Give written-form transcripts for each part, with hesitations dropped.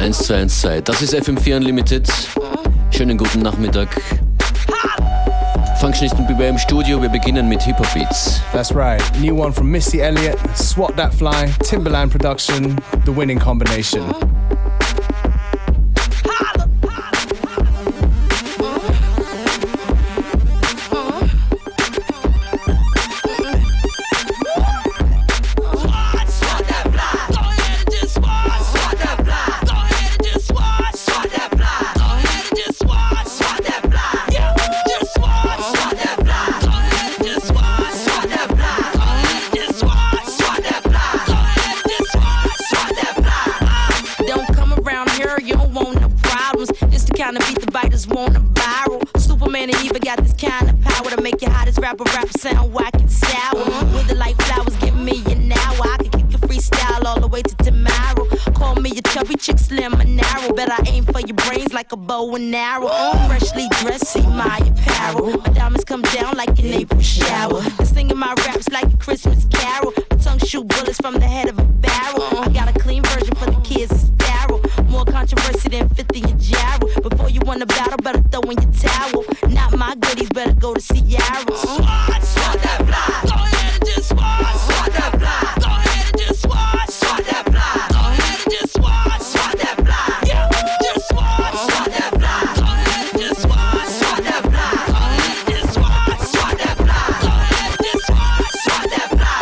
1-2-1-2. Das ist FM4 Unlimited. Schönen guten Nachmittag. Functionist und Beware im Studio. Wir beginnen mit Hip-Hop-Beats. That's right. New one from Missy Elliott, Swat That Fly, Timberland production, The Winning Combination. Rapper sound whack and sour. With the light flowers, give me an hour. I can kick a freestyle all the way to tomorrow. Call me a chubby chick, slim and narrow. Bet I aim for your brains like a bow and arrow. Freshly dressed, see my apparel. My diamonds come down like an April shower. And singing my raps like a Christmas carol. My tongue shoot bullets from the head of a barrel. I got a clean version for the kids, it's sterile. More controversy than 50 in gyro. Before you win a battle, better throw in your towel. Not my goodies, better go to Seattle. Swat that fly. Go ahead and just swat. Swat that fly. Go ahead and just swat. Swat that fly. Go ahead and just swat. Swat that fly. Yeah, just swat. Swat that fly. Go ahead and just swat. Swat that fly. Go ahead and just swat. Swat that fly. Go ahead and just swat. Swat that fly.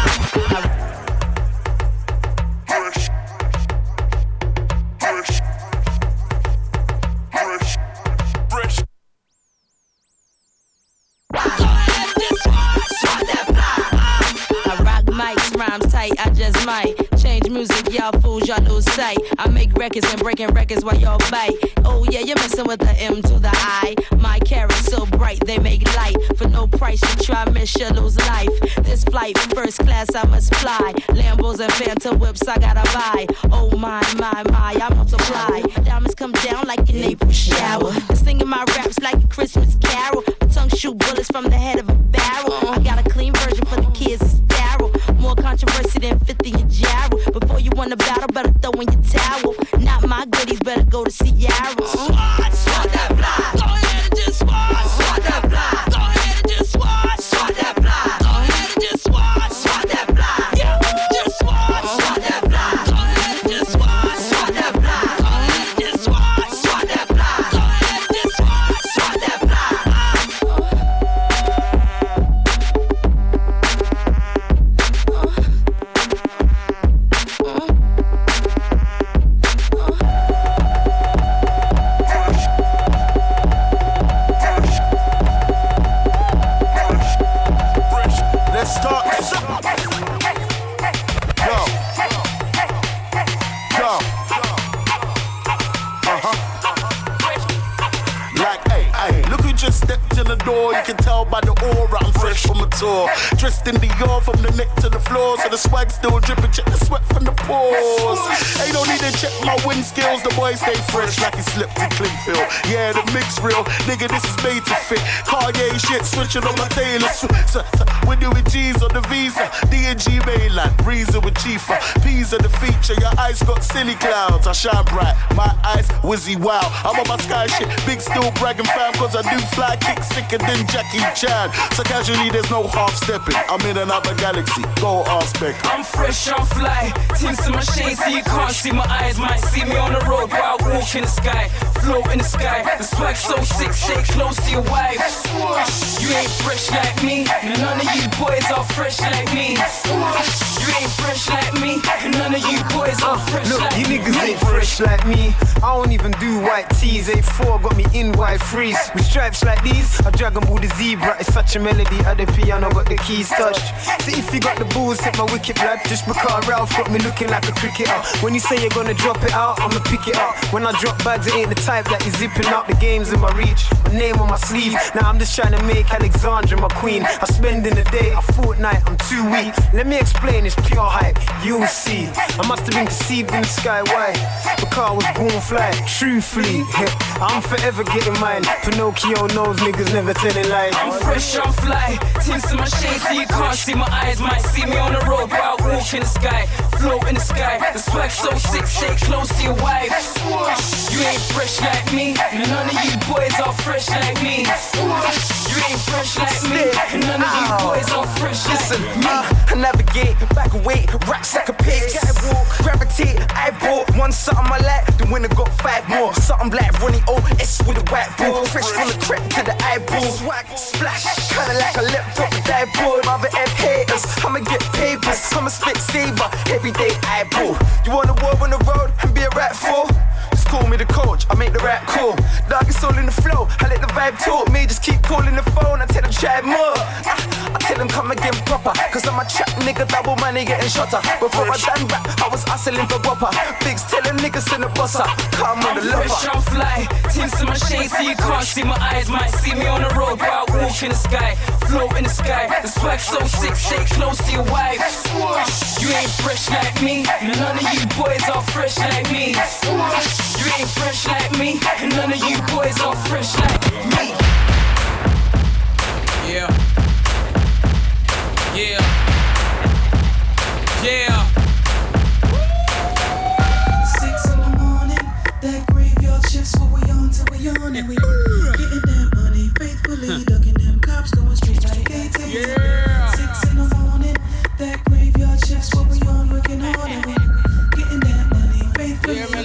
Rhymes tight, I just might change music, y'all fools, y'all lose sight. I make records and breaking records while y'all bite. Oh yeah, you're messing with the M to the I. My carrots so bright, they make light. For no price, you try, miss, you lose life. This flight, first class, I must fly. Lambos and Phantom whips, I gotta buy. Oh my, I multiply. Diamonds come down like an April shower. And singing my raps like a Christmas carol. My tongue shoot bullets from the head of a barrel. I got a clean version for the kids, it's sterile. More controversy than 50 in gyro. Before you win a battle, better throw in your towel. Not my goodies, better go to Seattle. Swat, swat that fly. Go ahead and just swat. Swat that fly. Go ahead and just swat. Swat that fly. Go ahead and just swat. Swat that fly. Yeah, just swat. Swat that fly. Go ahead and just swat. Swat that fly. Go ahead and just swat. Swat that fly. Go ahead and just swat. Swat that fly. You can tell by the aura I'm fresh from a tour. Dressed in Dior from the neck to the floor, so the swag still dripping. Check the sweat from the pores. Ain't no need to check my wind skills. The boy stay fresh like he slipped in Clinkville. Yeah, the mix real, nigga. This is made to fit. Kanye shit switching on my Taylor. We're doing G's on the Visa. D&G mainland, Reason with Chifa. P's are the feature. Your eyes got silly clouds. I shine bright. My eyes whizzy wow. I'm on my sky shit. Big still bragging fam, cause I do fly kicks sicker than Jackie Chan. So casually there's no half stepping. I'm in another galaxy. Go ask Beck. I'm fresh, I'm fly. Tints in my shades so you can't see my eyes. Might see me on the road while I walk in the sky. Float in the sky. The swag so sick, stay close to your wife. You ain't fresh like me. None of you boys are fresh like me. You ain't fresh like me. None of you boys are fresh look, like me. You niggas ain't fresh like me. I don't even do white tees. A4 got me in white freeze. With stripes like these, I Dragon Ball the zebra. It's such a melody. At the piano got the keys touched. So if you got the balls, hit my wicked blood. Just because Ralph got me looking like a cricketer. When you say you're gonna drop it out, I'ma pick it up. When I drop bags, it ain't the type that you zipping up. The game's in my reach, my name on my sleeve. Now I'm just trying to make Alexandra my queen. I spend in the day, a fortnight, I'm too weak. Let me explain, it's pure hype, you'll see. I must have been conceived in the sky, why? Because I was born fly, truthfully. I'm forever getting mine. Pinocchio knows niggas never telling lies. I'm fresh, I'm fly. Tints in my shades so you can't see my eyes. Might see me on the road while I walk in the sky. float in the sky. The swag so sick, stay close to your wife. You ain't fresh like me, none of you boys are fresh like me. You ain't fresh like me, none of you boys are fresh like me. I navigate, back away, racks like a pig. Catwalk, gravitate, I bought one something I like, the winner got 5 more. Something like Ronnie O.S. with a white ball. Fresh from the crep to the eyeball. Swag, splash, kinda like a laptop with that board. Mother F haters, I'ma get papers, I'ma spit saber, everyday eyeball. You want a war on the road and be a rat fool? Just call me the coach, I make the rap cool. Dog is all in the flow, I let the vibe talk me. Just keep calling the phone, I tell them try more. I tell them come again proper, cause I'm a trap nigga, double money getting shotter. Before I done rap, I was hustling for whopper. Bigs telling niggas in the busser, come on the lover. Fresh on fly, tints in my shades so you can't see my eyes. Might see me on the road while I walk in the sky. Float in the sky, the swag so sick, stay close to your wife. You ain't fresh like me, none of you boys are fresh like me. You ain't fresh like me, none of you boys are fresh like me. Yeah. Yeah. Yeah. 6 in the morning, that graveyard shift's what we on till we on. And we getting that money faithfully, ducking them cops going straight like ATV. Yeah. 6 in the morning, that graveyard shift's what we on, working hard. And we getting that money faithfully.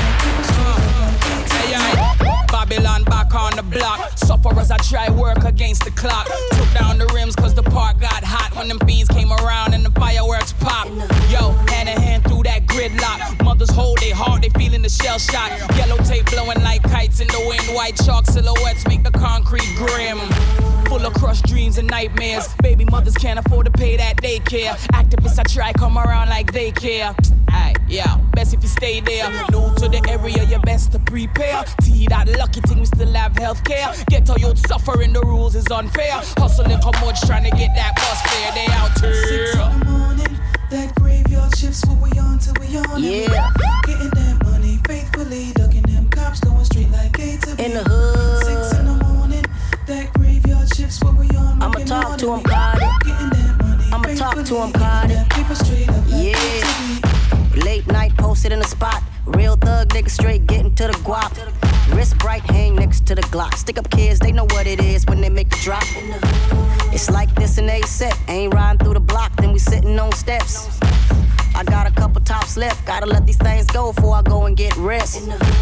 Babylon back on the block. Suffer as I try work against the clock. Took down the rims cause the park got hot when them bees came around and the fireworks pop. Yo, hand in hand through that gridlock. Mothers hold their heart, they feeling the shell shock. Yellow tape blowing like kites in the wind. White chalk silhouettes make the concrete grim. Full of crushed dreams and nightmares. Baby mothers can't afford to pay that daycare. Activists I try come around like they care. Aye, yeah, best if you stay there. New to the area, you best to prepare. See that lucky thing, we still have healthcare. Get all youth suffering, the rules is unfair. Hustling come much trying to get that bus fare. They out here. 6 in the morning, that graveyard shift's what we on till we on. Yeah. Getting that money faithfully, ducking them cops going straight like A to B. In the hood. 6 in the morning, that graveyard shift's what we on. I'ma talk to him, Cardi. Getting that money I'ma talk to him, Cardi. People straight up like Yeah. A to B. Late night posted in the spot. Real thug nigga straight getting to the guap. Wrist bright, hang next to the Glock. Stick up kids, they know what it is when they make the drop. It's like this in A-set. Ain't riding through the block, then we sitting on steps. I got a couple tops left. Gotta let these things go before I go and get rest.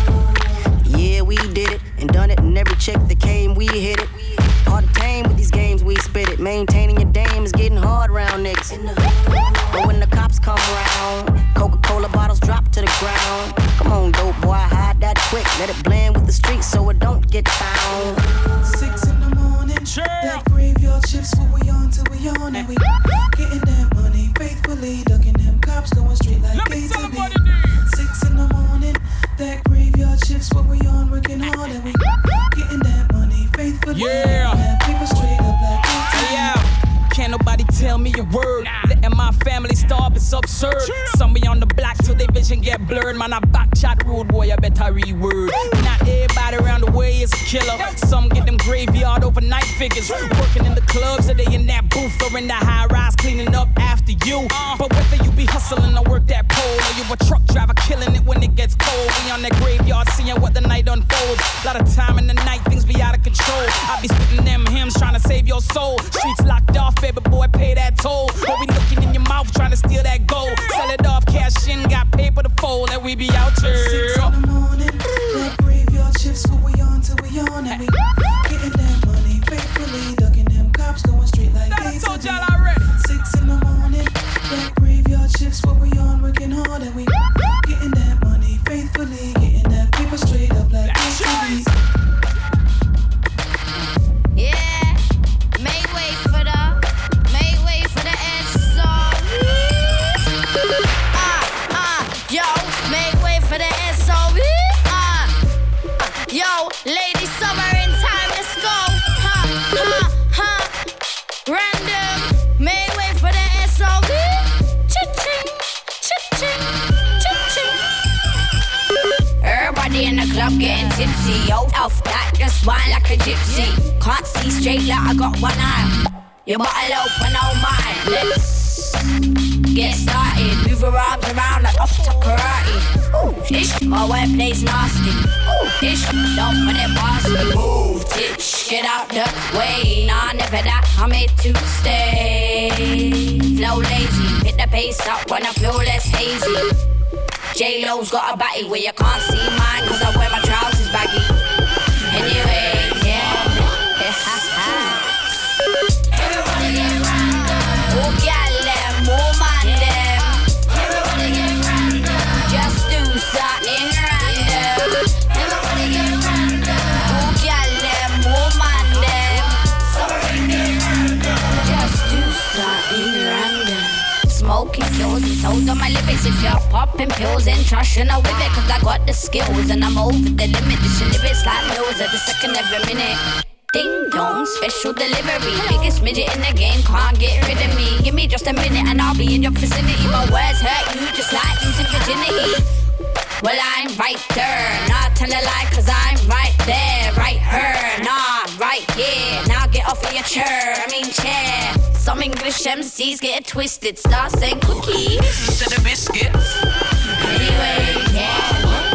Yeah, we did it and done it, and every chick that came, we hit it. Hard to tame with these games, we spit it. Maintaining your dame is getting hard round niggas. But when the cops come around, Coca-Cola bottles drop to the ground. Come on, dope boy, hide that quick. Let it blend with the streets so it don't get found. 6 in the morning, that graveyard shift's what we on till we on. And we getting that money faithfully, ducking them cops going straight like A to B. 6 in the morning, that graveyard shift's what we on, working hard. And we getting that money faithfully, Yeah. people straight up like A to B. Yeah. Can't nobody tell me a word. Letting my family starve is absurd. Some be on the block till their vision get blurred. Man, I back chat rude boy, I better reword. Not everybody around the way is a killer. Some get them graveyard overnight figures. Working in the clubs or they in that booth or in the high rise cleaning up after you. But whether you be hustling or work that pole, or you a truck driver killing it when it gets cold. We on that graveyard seeing what the night unfolds. Lot of time in the night, things be out of control. I be spitting them hymns trying to save your soul. Streets locked off, baby boy, pay that toll. But we looking in your mouth trying to steal that gold. Sell it off, cash in, got paper to fold, and we be out 6 here. in the morning, that graveyard shift's what we on till we on. And we getting that money faithfully, ducking them cops going straight like A to B. 6 in the morning, that graveyard shift's what we on, working hard. And we getting that money faithfully, getting that paper straight up like A to B. Yeah, make way for the SO. Yo, make way for the SO. Yo, ladies, summer in time, let's go. Random, make way for the SO. Cha-ching, cha-ching, cha-ching. Everybody in the club getting tipsy. Yo, off that, just wine like a gypsy. Can't see straight like I got one eye. Your bottle open, oh mine. Let's get started. Move Move your arms around like off to karate. Ooh, ish, my wordplay's nasty. Ooh, ish, don't put it past me. Move, bitch, get out the way. Nah, never that, I'm made to stay. Flow lazy, hit the pace up when I feel less hazy. J-Lo's got a batty where you can't see mine, cause I wear my trousers baggy. Anyway, yeah. Everybody get random. Oh, gal them, oh man them. Everybody get random. Just do something random. Everybody get random. Oh, gal them, oh man them. Sorry, get random. Just do something random. Smoking kills, it's hold on my lips. If you're popping pills and trashing a with it, cause I got the skills and I'm over the limit. This shit lyrics like meals at the second every minute. Ding dong, special delivery. Biggest midget in the game, can't get rid of me. Give me just a minute and I'll be in your vicinity. My words hurt you just like losing virginity. Well, I'm right there, not tell a lie, cause I'm right there. Right her, nah, right here. Now get off of your chair, chair. Some English MCs get it twisted. Start saying cookies instead of biscuits. Anyway, yeah.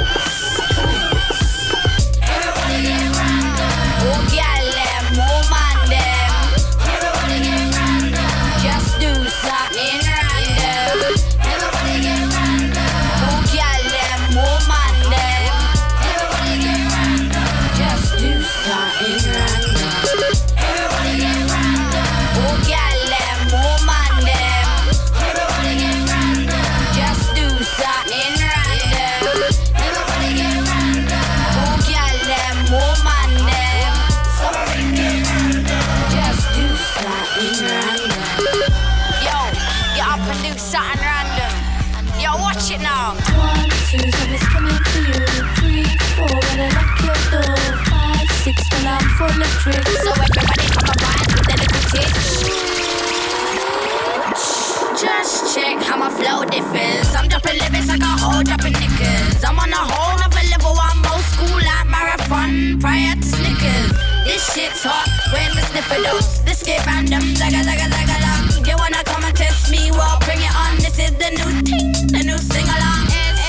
Everybody get random. Oh, gal them, oh man them. Everybody get random. Just do something random. Everybody get random. Oh, gal them, oh man them. Everybody get random. Just do something random. Everybody get random. Oh, gal them, oh man them. Everybody get random. Just do something random. Everybody get random. Oh, gal them, oh man them. Sorry, get random. Just do something random. Yo, get up and do something random. Yo, watch it now. 1, 2, it's coming for you. 3, 4, when I knock your door. 5, 6, when I'm full of tricks. So everybody come around with their little tits. Just check how my flow differs. I'm dropping lyrics like a whole dropping knickers. I'm on a whole nother level. I'm old school like marathon prior to Snickers. This shit's hot when the sniffer dose. This get random, zaga zaga zaga long. You wanna come and test me? Well, bring it on. This is the new thing, the new sing along.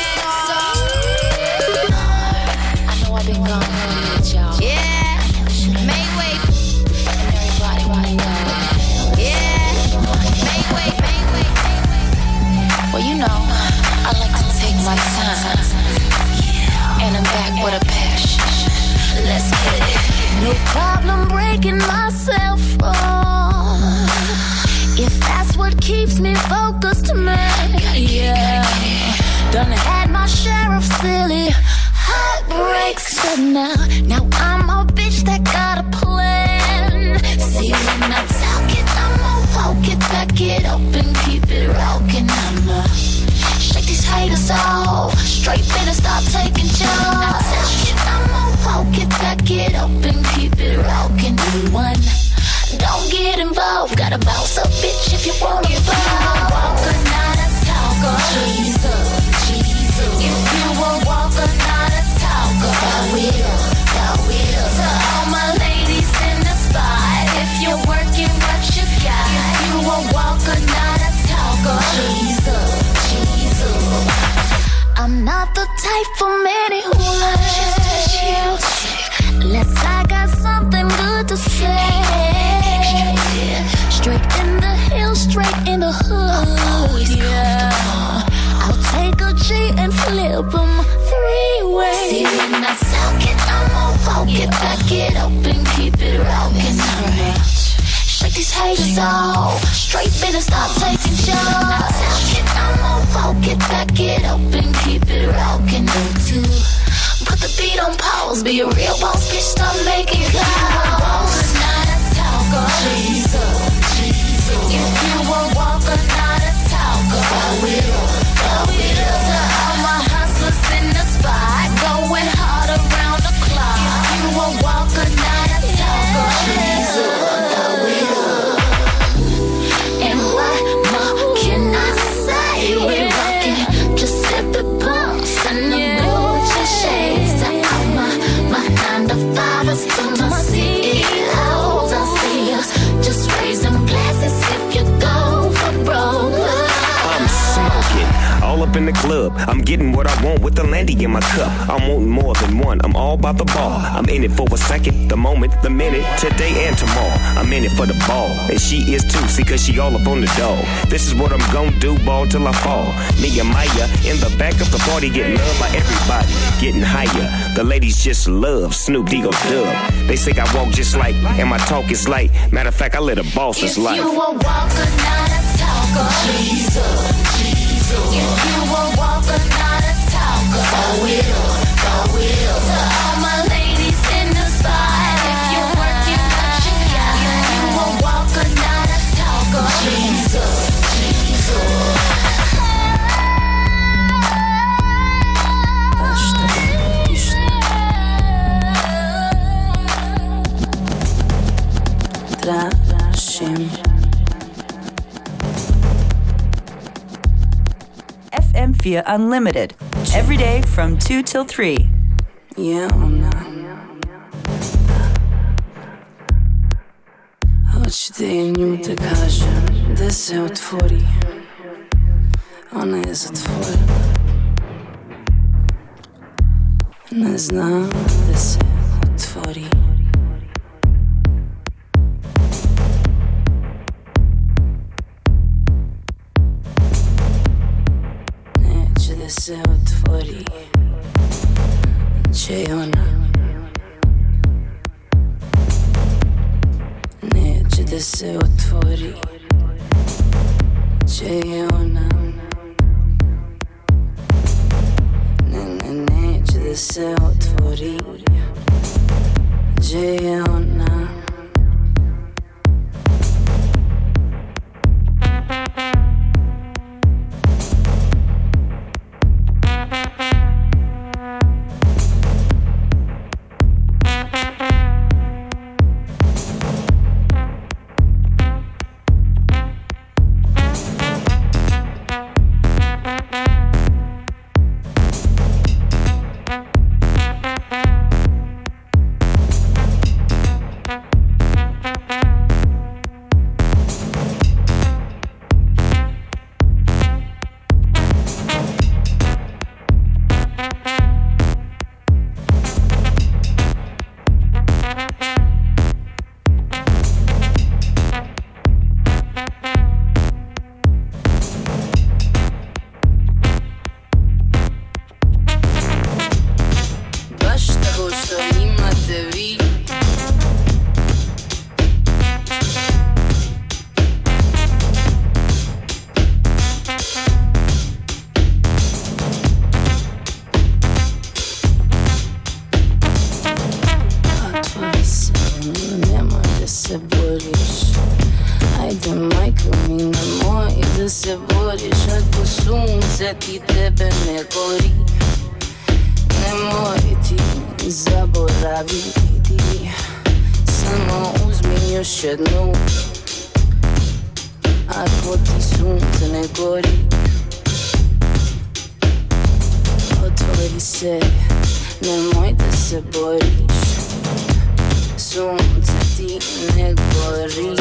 I know I've been gone for a minute, y'all. Yeah, make way. And everybody right now. Yeah, make way, make way, make way. Well, you know, I like to take my time. And I'm back with a passion. Let's get it. No problem breaking myself off, if that's what keeps me focused, man. Yeah, done had my share of silly heartbreaks, but now I'm a bitch that got a plan. See, when I talk it, I'ma walk it, back it up and keep it rockin'. I'ma shake these haters off, straight better stop taking jobs. I'ma walk it, back it up and keep it rockin'. One, don't get involved, gotta bounce up, bitch, if you wanna involved. Walker, not a talker. Jesus, Jesus. If you a walker, not a talker. Go it up. To all my ladies in the spot, if you're working what you got. If you a walker, not a talker. Jesus, Jesus. I'm not the type for many who like unless I got something good to say. Straight in the hills, straight in the hood, yeah. I'll take a G and flip them 3 ways. See, when I talk it, I'ma walk it, back it up and keep it rockin'. Shake these haters off, straight better stop taking shots. When I talk it, I'ma walk it, back it up and keep it rockin'. Two, put the beat on pause, be a real boss, bitch, stop making calls. Not a talker. Jesus, Jesus. If you a walker, not a talker. Go it up. To all my hustlers in the spot, going hard around the clock. If you a walker, not a talker. Jesus, go it up. And what more can I say? We're rockin', just sip it, pumps, and the Gucci shades. To all my 9 to 5's, to my CEOs, I see us just raise I'm getting what I want with the landy in my cup. I'm wanting more than one, I'm all about the ball. I'm in it for a second, the moment, the minute, today and tomorrow. I'm in it for the ball, and she is too, see cause she all up on the dog. This is what I'm gon' do, ball till I fall. Me and Maya in the back of the party, getting loved by everybody, getting higher. The ladies just love Snoop D-O Dub. They say I walk just like, and my talk is light. Matter of fact, I live a boss's life. If you a walker, not a talker, Jesus. If you a walker, not a talker, go it up, go it up. To all my ladies in the spot, if you working what you got. If you a walker, not a talker, Jesus. Tražim FM4 Unlimited. Every day from 2 till 3. Yeah, ona. Hoću da je nju da kažem da se otvori. Ona je zatvorena. Ne znam da se otvori. Da se otvori, će ona. Neće da se otvori, će ona. Neće da se otvori, će ona. Ti tebe ne gori, nemoj ti zaboraviti. Samo uzmi još jednu, ako ti sunce ne gori. Otvori se, nemoj da se boriš. Sunce ti ne gori.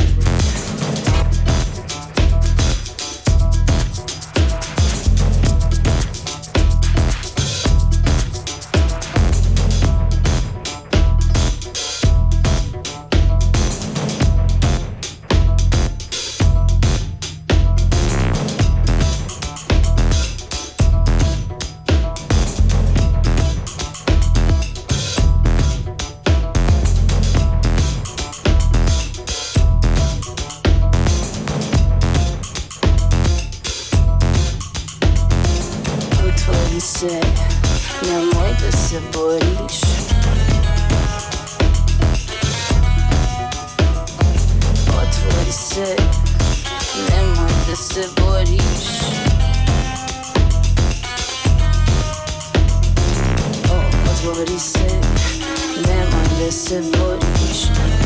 Nemoj da se boriš. Otvori se, nemoj da se boriš. Otvori se, nemoj da se boriš.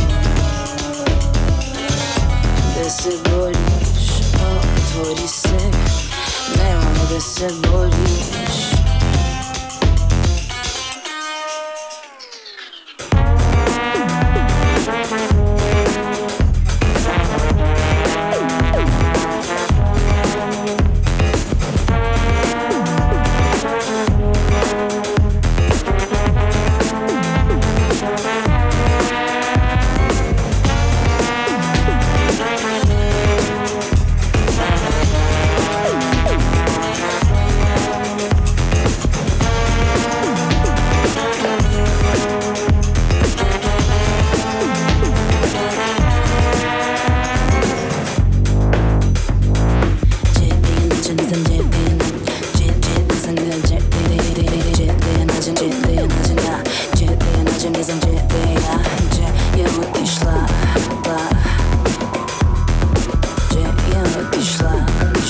Da se boriš. Otvori se, nemoj da se boriš. ciddiye acına, ciddiye acımızın ciddiye, yamuk işler, yamuk işler,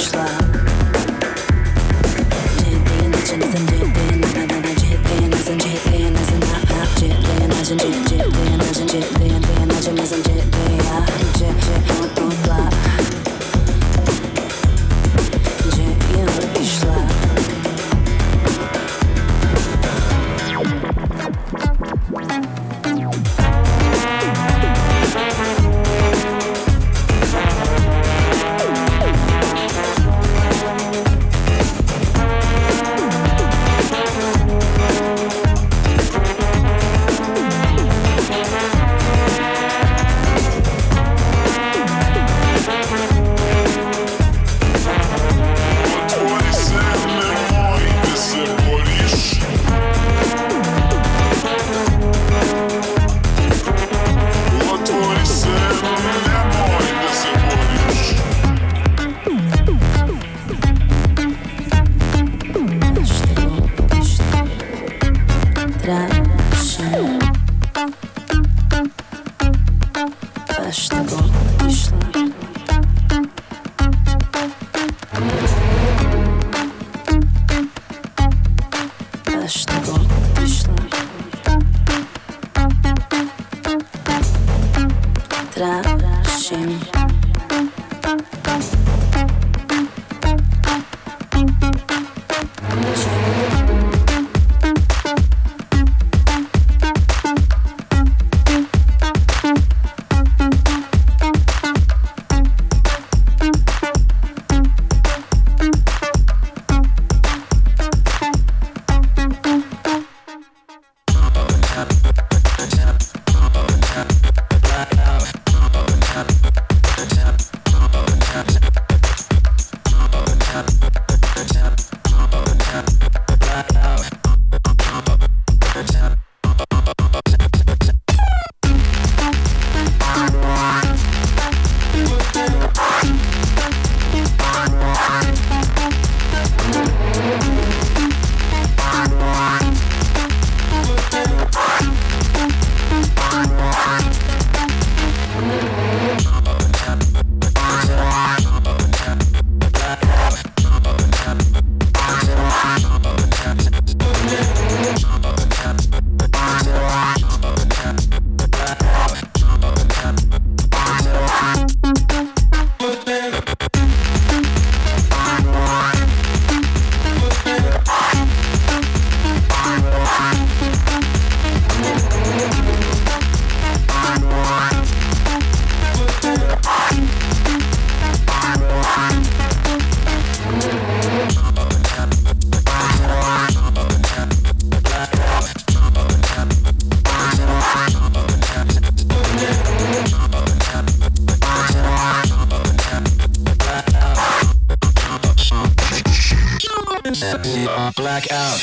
ciddiye acımızın ciddiye acına, ciddiye acın, ciddiye acına, ciddiye acın, ciddiye acın, ciddiye acımızın ciddiye, mutlular. Blackout.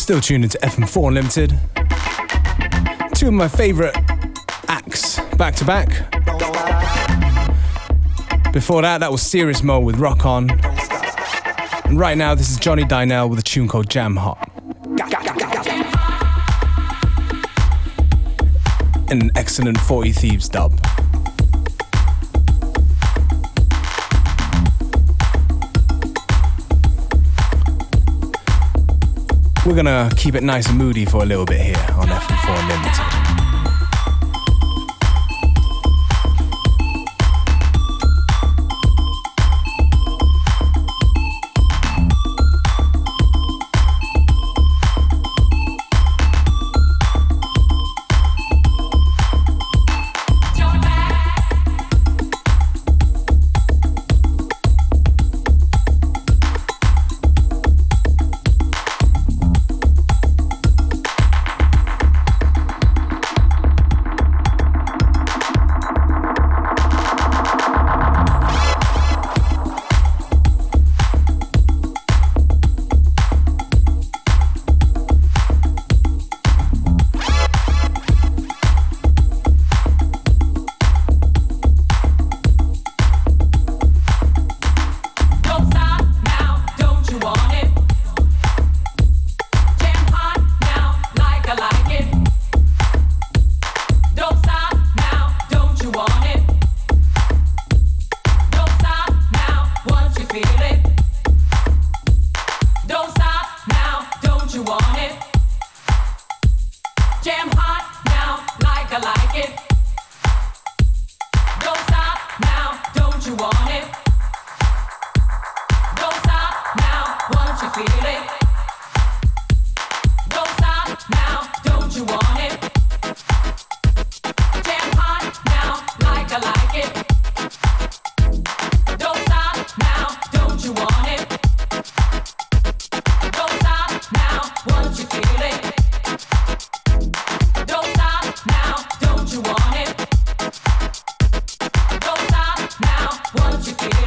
Still tuned into FM4 Unlimited. Two of my favourite acts back to back. Before that was Serious Mo with Rock On. And right now, this is Johnny Dynell with a tune called Jam Hot. And an excellent 40 Thieves dub. We're gonna keep it nice and moody for a little bit here on FM4 Unlimited. Once you feel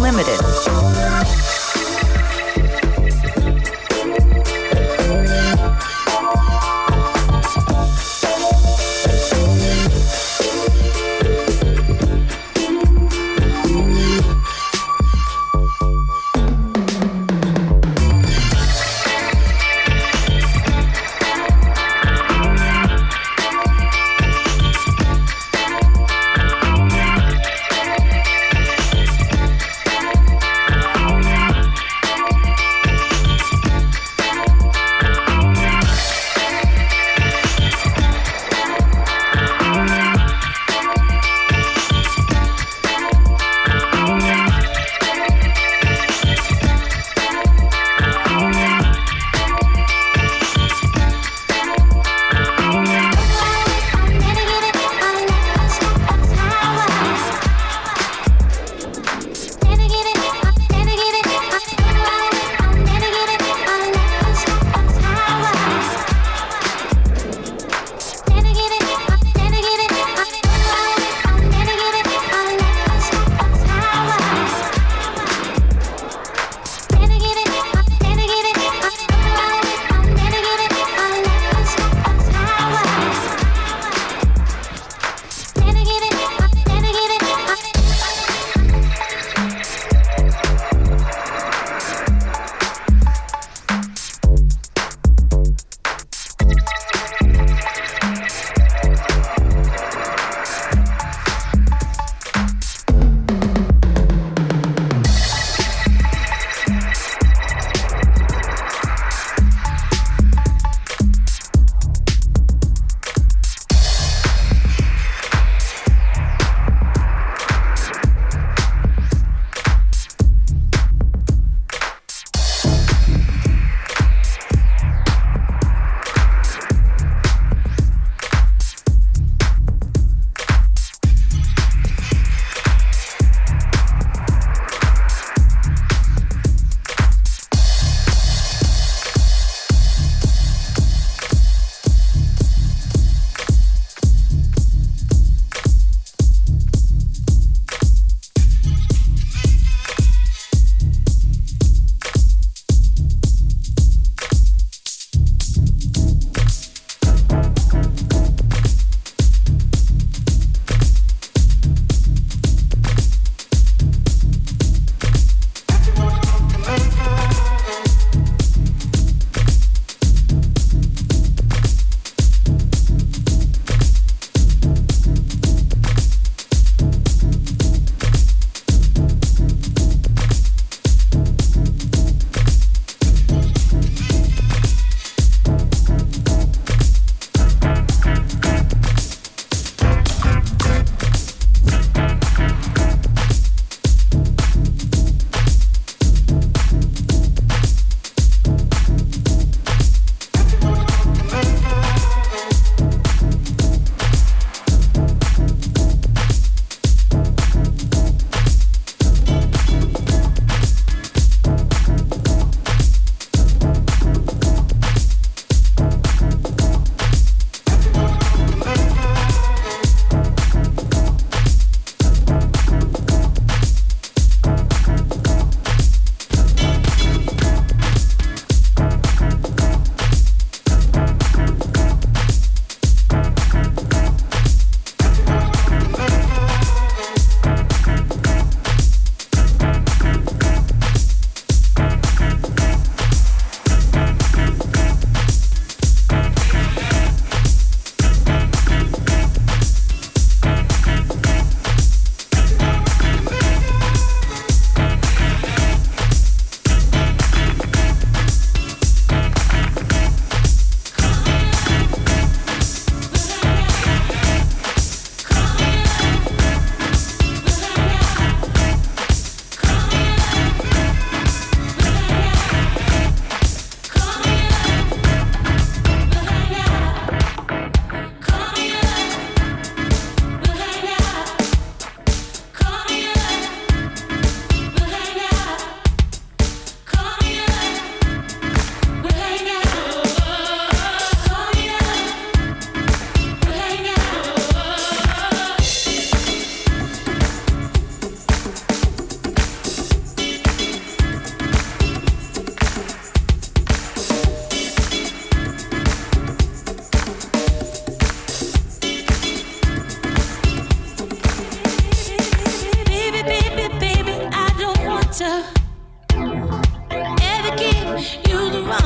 Unlimited.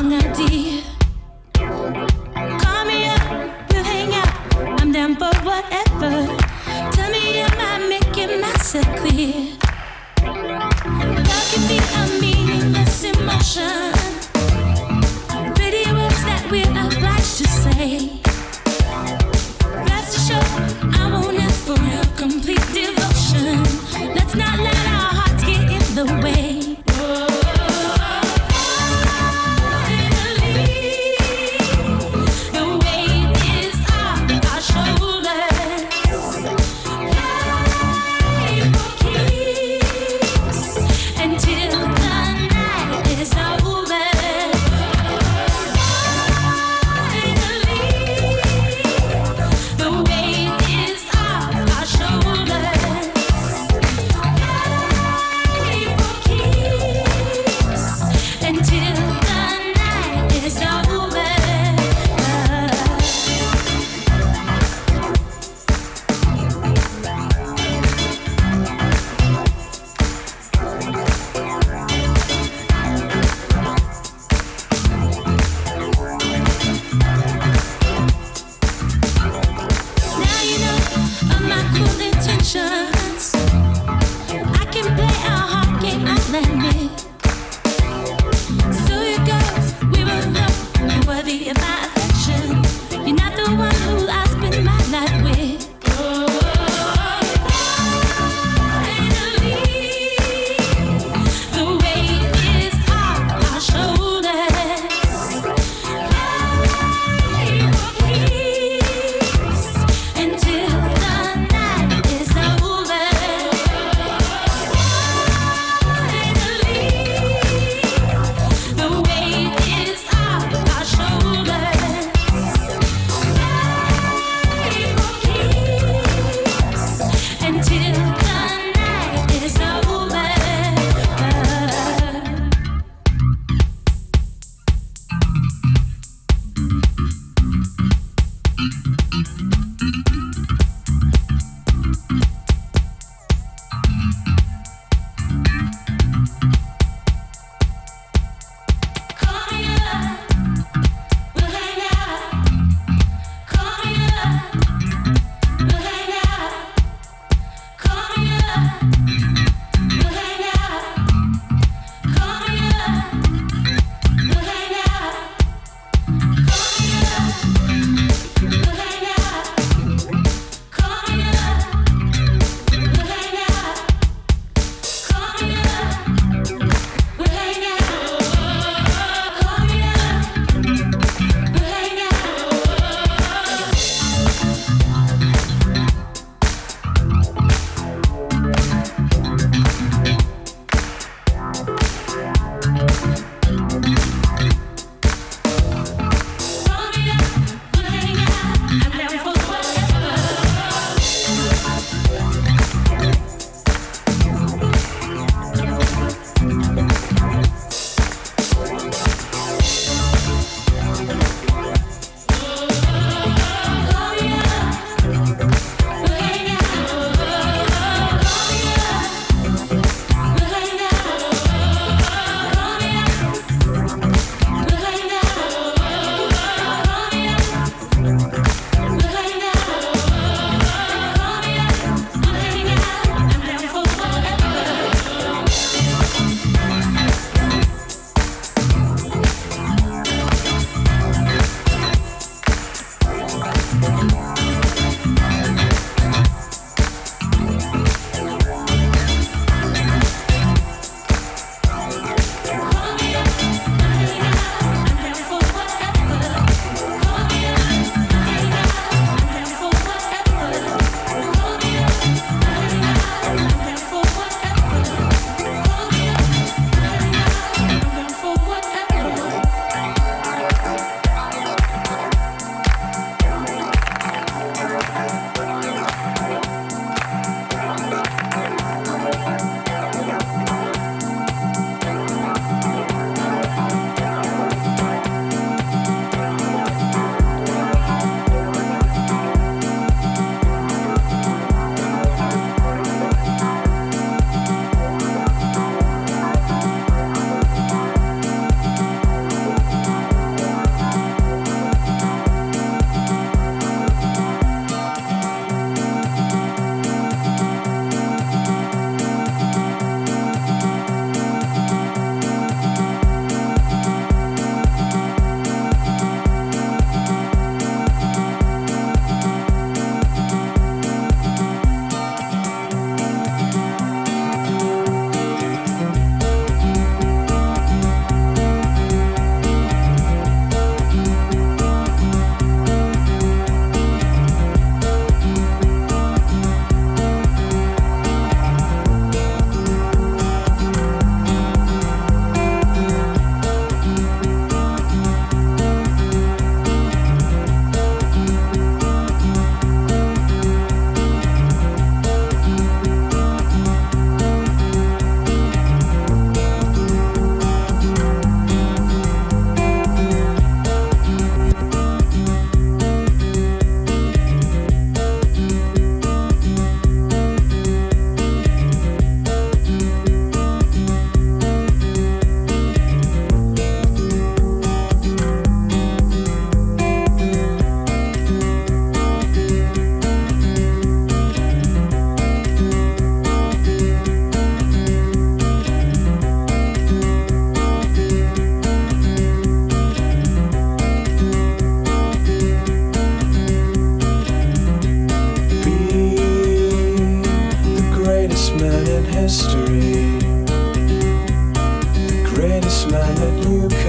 wrong idea. Call me up, we'll hang out. I'm down for whatever. Tell me, am I making myself clear? Love can be a meaningless emotion. Pretty words that we're obliged to say. Rest assured, I won't ask for your complete devotion. Let's not let our hearts get in the way. Believe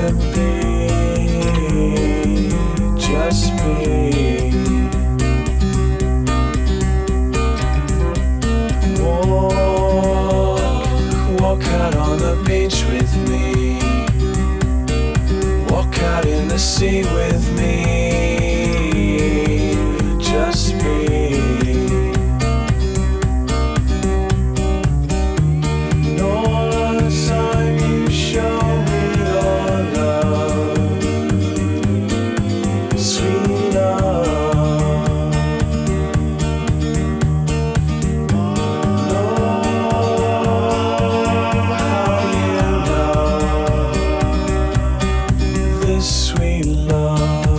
can be, just be. Walk out on the beach with me. Walk out in the sea with me. Just be. And all the time you show me your love, sweet love. Know how you love this sweet love.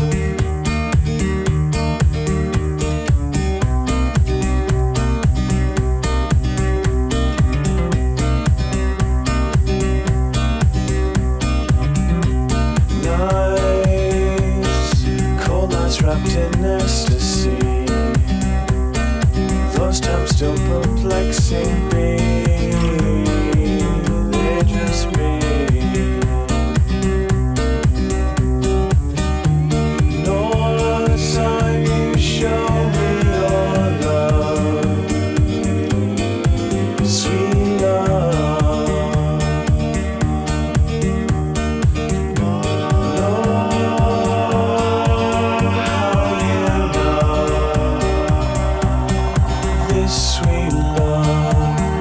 Nights, cold nights wrapped in ecstasy. Those times still perplexing me. They're just me. And all the time you show me your love, sweet love. Know how you love this sweet love.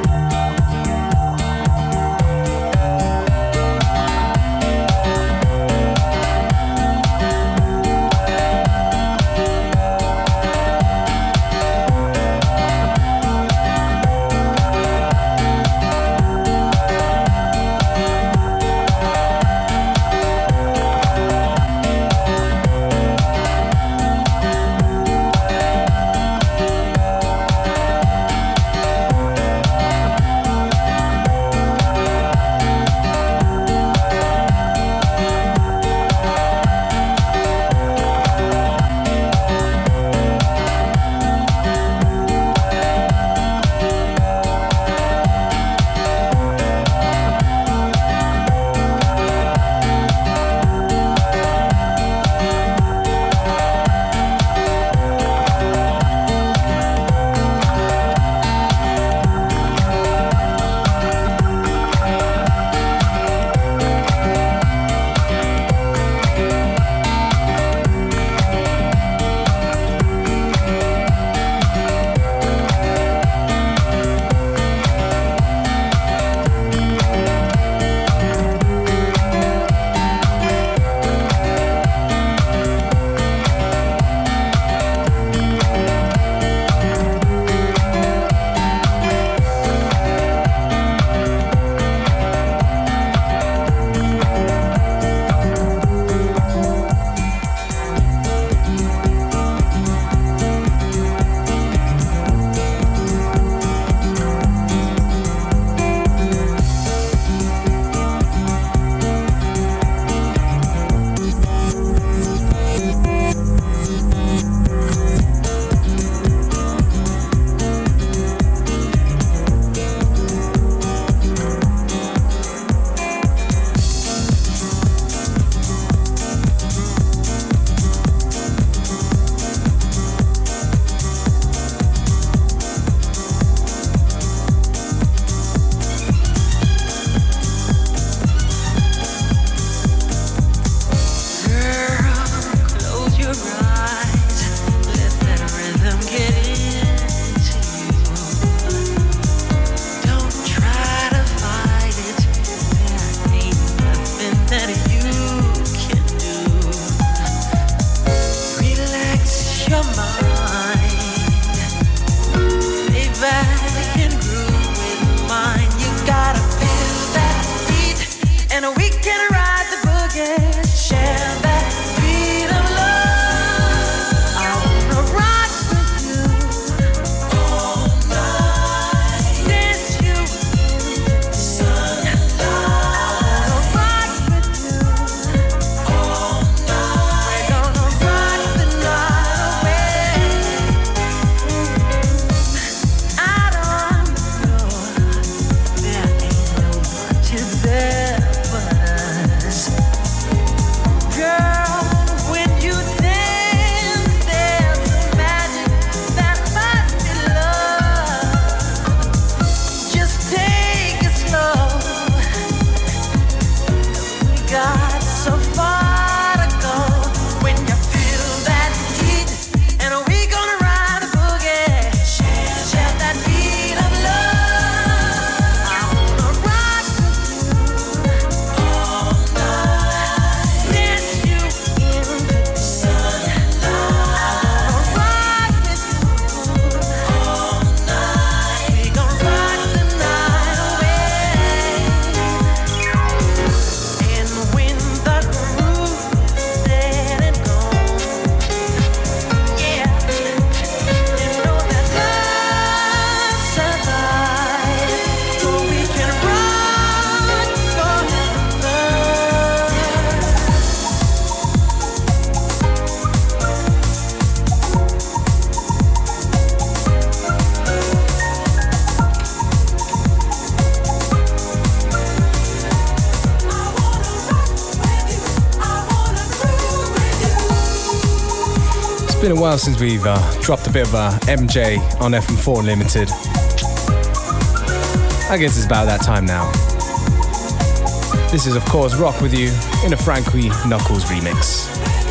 so far to go. When you feel that heat, and we gonna ride a boogie, share that beat of love. I wanna rock all night, dance you into the sunlight. I wanna rock with you all night. We gon' rock the night away. And when the groove dead and gone, yeah, you know that love survives, so we can rock forever. It's been a while since we've dropped a bit of MJ on FM4 Unlimited. I guess it's about that time now. This is, of course, Rock With You in a Frankie Knuckles remix.